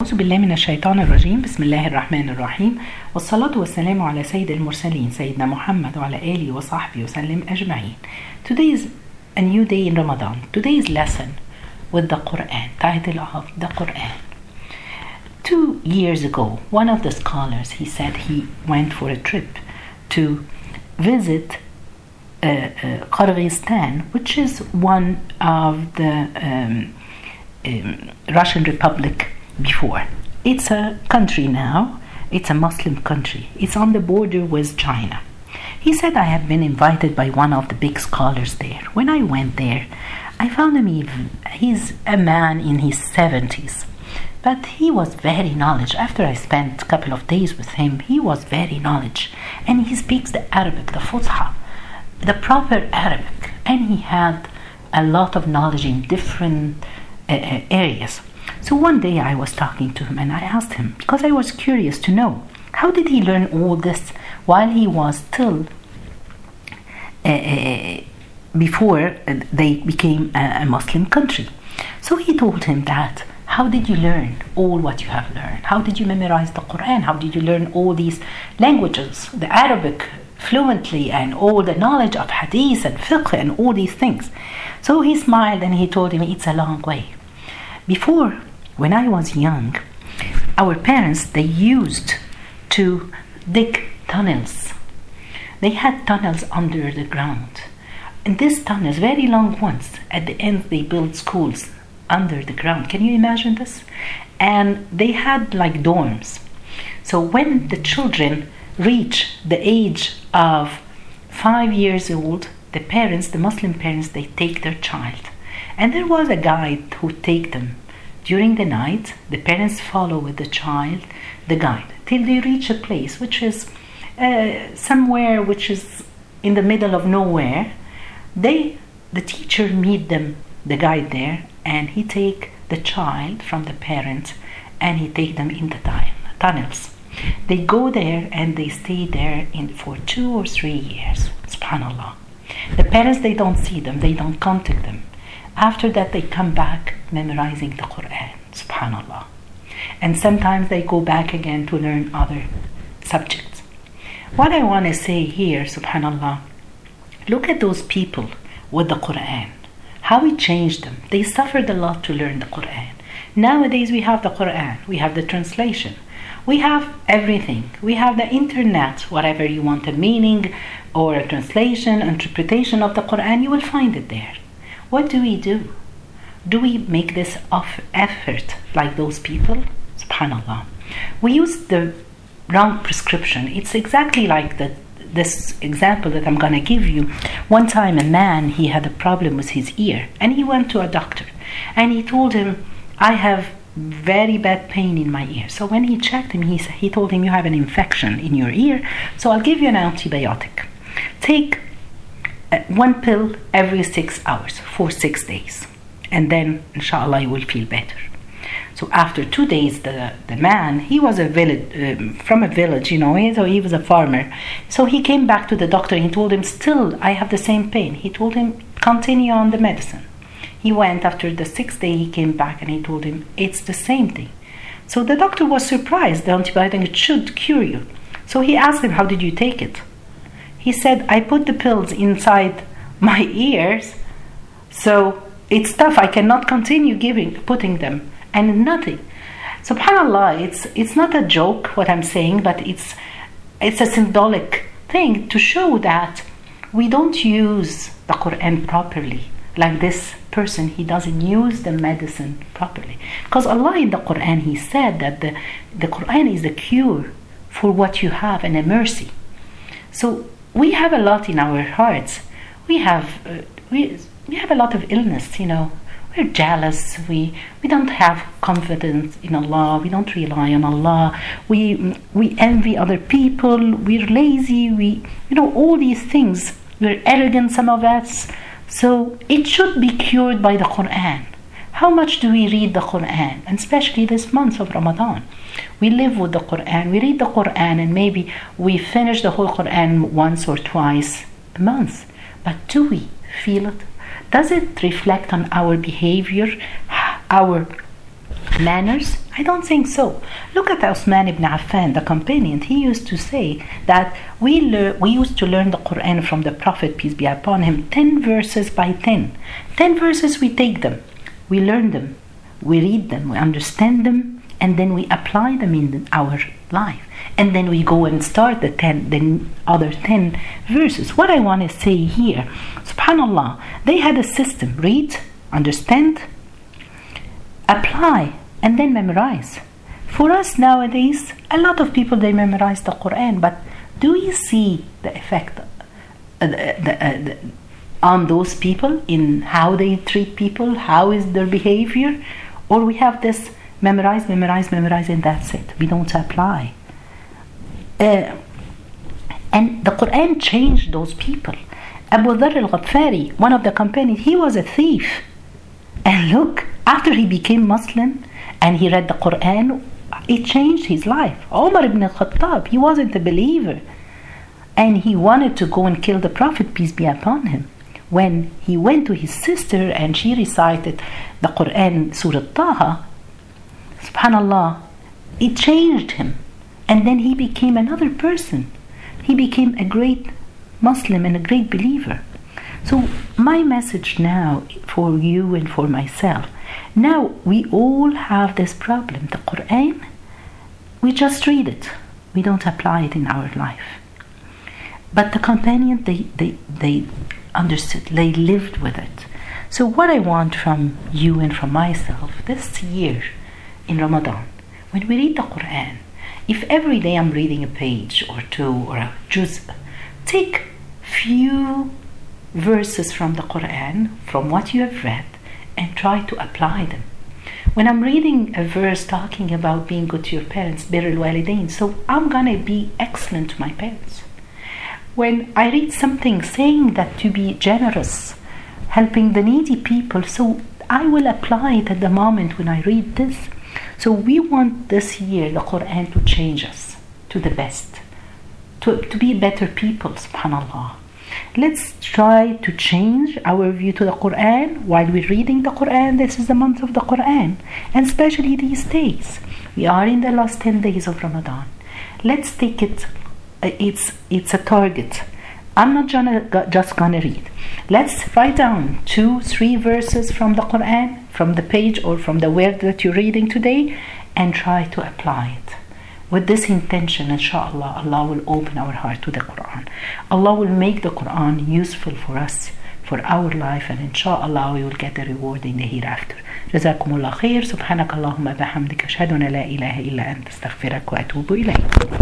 أعوذ بالله من الشيطان الرجيم. بسم الله الرحمن الرحيم، والصلاة والسلام على سيد المرسلين سيدنا محمد وعلى آله وصحبه وسلم أجمعين. Today is a new day in Ramadan. Today's lesson with the Quran, title of the Quran. 2 years ago, one of the scholars, he said he went for a trip to visit Kyrgyzstan, which is one of the Russian Republic before. It's a country now. It's a Muslim country. It's on the border with China. He said, I have been invited by one of the big scholars there. When I went there, I found him, he's a man in his 70s. But he was very knowledgeable. After I spent a couple of days with him, he was very knowledgeable. And he speaks the Arabic, the Fusha, the proper Arabic. And he had a lot of knowledge in different areas. So one day I was talking to him and I asked him, because I was curious to know, how did he learn all this while he was still before they became a Muslim country? So he told him that, how did you learn all what you have learned? How did you memorize the Quran? How did you learn all these languages, the Arabic fluently, and all the knowledge of hadith and fiqh and all these things? So he smiled and he told him, it's a long way. Before, when I was young, our parents, they used to dig tunnels. They had tunnels under the ground. And these tunnels, very long ones, at the end they built schools under the ground. Can you imagine this? And they had like dorms. So when the children reach the age of 5 years old, the parents, the Muslim parents, they take their child. And there was a guide who take them. During the night, the parents follow with the child, the guide, till they reach a place which is somewhere which is in the middle of nowhere. The teacher meet them, the guide there, and he take the child from the parents and he take them in the tunnels. They go there and they stay there for 2 or 3 years. Subhanallah. The parents, they don't see them, they don't contact them. After that, they come back memorizing the Quran. Subhanallah. And sometimes they go back again to learn other subjects. What I want to say here, subhanallah, look at those people with the Quran. How it changed them. They suffered a lot to learn the Quran. Nowadays we have the Quran. We have the translation. We have everything. We have the internet. Whatever you want a meaning or a translation, interpretation of the Quran, you will find it there. What do we do? Do we make this effort like those people? Subhanallah. We use the wrong prescription. It's exactly like this example that I'm going to give you. One time a man, he had a problem with his ear and he went to a doctor and he told him, I have very bad pain in my ear. So when he checked him, he told him, you have an infection in your ear, so I'll give you an antibiotic. Take 1 pill every 6 hours for 6 days, and then inshallah you will feel better. So after 2 days, the man, he was from a village, so he was a farmer. So he came back to the doctor and he told him, still I have the same pain. He told him, continue on the medicine. He went after the 6th day, he came back and he told him, it's the same thing. So the doctor was surprised. The antibiotic, it should cure you. So he asked him, how did you take it? He said, I put the pills inside my ears, so it's tough. I cannot continue putting them, and nothing. Subhanallah, it's not a joke what I'm saying, but it's a symbolic thing to show that we don't use the Quran properly. Like this person, he doesn't use the medicine properly. Because Allah in the Quran, he said that the Quran is the cure for what you have and a mercy. So we have a lot in our hearts. We have a lot of illness, We're jealous. We don't have confidence in Allah. We don't rely on Allah. We envy other people. We're lazy. All these things. We're arrogant, some of us. So it should be cured by the Quran. How much do we read the Quran? And especially this month of Ramadan. We live with the Quran. We read the Quran and maybe we finish the whole Quran once or twice a month. But do we feel it? Does it reflect on our behavior, our manners? I don't think so. Look at Uthman ibn Affan, the companion. He used to say that we used to learn the Quran from the Prophet, peace be upon him, 10 verses by 10. 10 verses, we take them, we learn them, we read them, we understand them, and then we apply them in our life. And then we go and start the other 10 verses. What I want to say here, subhanallah, they had a system: read, understand, apply, and then memorize. For us nowadays, a lot of people, they memorize the Quran, but do you see the effect on those people, in how they treat people, how is their behavior? Or we have this memorize, and that's it. We don't apply. And the Quran changed those people. Abu Dharr al-Ghaffari, one of the companions, he was a thief. And look, after he became Muslim and he read the Quran, it changed his life. Umar ibn al-Khattab, he wasn't a believer. And he wanted to go and kill the Prophet, peace be upon him. When he went to his sister and she recited the Quran, Surah Taha, subhanallah, it changed him. And then he became another person. He became a great Muslim and a great believer. So my message now for you and for myself, now we all have this problem. The Quran, we just read it. We don't apply it in our life. But the companion, they understood, they lived with it. So what I want from you and from myself this year in Ramadan, when we read the Quran, if every day I'm reading a page or two or a juz, take few verses from the Quran, from what you have read, and try to apply them. When I'm reading a verse talking about being good to your parents, birr al-walidain, so I'm gonna be excellent to my parents. When I read something saying that to be generous, helping the needy people, so I will apply it at the moment when I read this. So we want this year the Quran to change us to the best, to be better people, subhanallah. Let's try to change our view to the Quran while we're reading the Quran. This is the month of the Quran, and especially these days. We are in the last 10 days of Ramadan. Let's take it, it's a target. I'm not just gonna read. Let's write down 2-3 verses from the Quran, from the page or from the word that you're reading today, and try to apply it. With this intention, inshallah, Allah will open our heart to the Quran. Allah will make the Quran useful for us, for our life, and inshallah we will get the reward in the hereafter. Jazakumullah khair. Subhanakallahumma bihamdika ashhadu an la ilaha illa anta astaghfiruka wa atubu ilayk.